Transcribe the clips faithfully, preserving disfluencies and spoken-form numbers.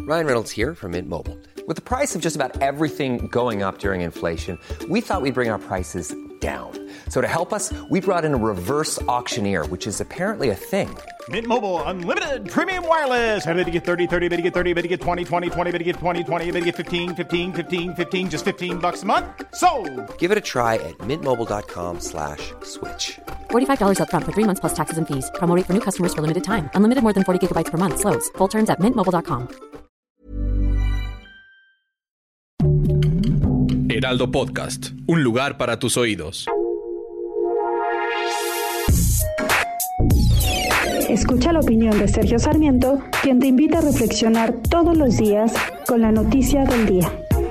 Ryan Reynolds here from Mint Mobile. With the price of just about everything going up during inflation, we thought we'd bring our prices down. So to help us, we brought in a reverse auctioneer, which is apparently a thing. Mint Mobile Unlimited Premium Wireless. How to get thirty, thirty, how to get thirty, how to get twenty, twenty, twenty, how to get twenty, twenty, how to get fifteen, fifteen, fifteen, fifteen, just fifteen bucks a month? Sold! Give it a try at mintmobile.com slash switch. forty-five dollars up front for three months plus taxes and fees. Promo rate for new customers for limited time. Unlimited more than forty gigabytes per month. Slows full terms at mint mobile dot com. Heraldo Podcast, un lugar para tus oídos. Escucha la opinión de Sergio Sarmiento, quien te invita a reflexionar todos los días con la noticia del día.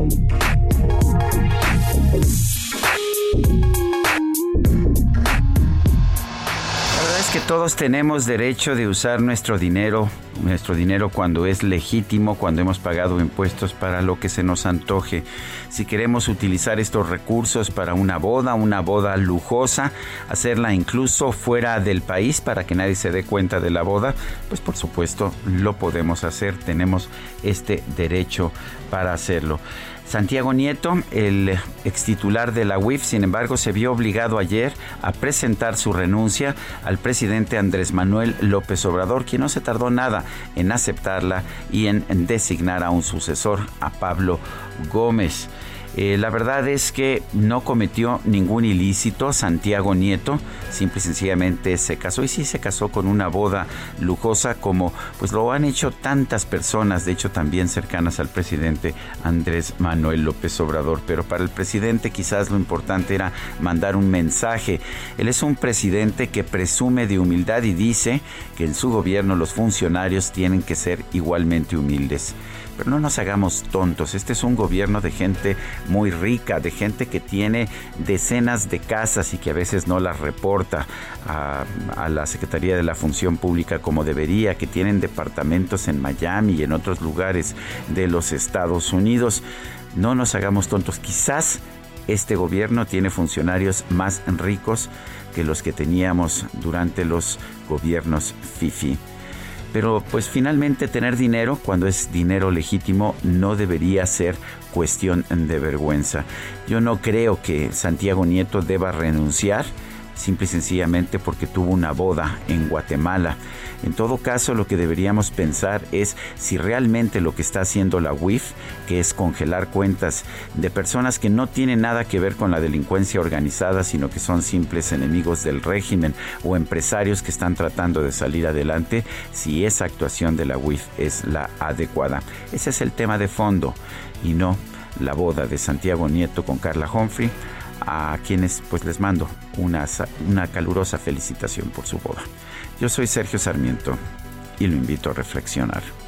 Que todos tenemos derecho de usar nuestro dinero, nuestro dinero cuando es legítimo, cuando hemos pagado impuestos para lo que se nos antoje. Si queremos utilizar estos recursos para una boda, una boda lujosa, hacerla incluso fuera del país para que nadie se dé cuenta de la boda, pues por supuesto lo podemos hacer, tenemos este derecho para hacerlo. Santiago Nieto, el extitular de la U I F, sin embargo, se vio obligado ayer a presentar su renuncia al presidente Andrés Manuel López Obrador, quien no se tardó nada en aceptarla y en designar a un sucesor, a Pablo Gómez. Eh, la verdad es que no cometió ningún ilícito Santiago Nieto, simple y sencillamente se casó, y sí se casó con una boda lujosa como pues lo han hecho tantas personas, de hecho también cercanas al presidente Andrés Manuel López Obrador, pero para el presidente quizás lo importante era mandar un mensaje. Él es un presidente que presume de humildad y dice que en su gobierno los funcionarios tienen que ser igualmente humildes. Pero no nos hagamos tontos, este es un gobierno de gente muy rica, de gente que tiene decenas de casas y que a veces no las reporta a, a la Secretaría de la Función Pública como debería, que tienen departamentos en Miami y en otros lugares de los Estados Unidos. No nos hagamos tontos, quizás este gobierno tiene funcionarios más ricos que los que teníamos durante los gobiernos fifí. Pero pues finalmente tener dinero, cuando es dinero legítimo, no debería ser cuestión de vergüenza. Yo no creo que Santiago Nieto deba renunciar simple y sencillamente porque tuvo una boda en Guatemala. En todo caso, lo que deberíamos pensar es si realmente lo que está haciendo la U I F, que es congelar cuentas de personas que no tienen nada que ver con la delincuencia organizada, sino que son simples enemigos del régimen o empresarios que están tratando de salir adelante, si esa actuación de la U I F es la adecuada. Ese es el tema de fondo y no la boda de Santiago Nieto con Carla Humphrey, a quienes pues les mando una, una calurosa felicitación por su boda. Yo soy Sergio Sarmiento y lo invito a reflexionar.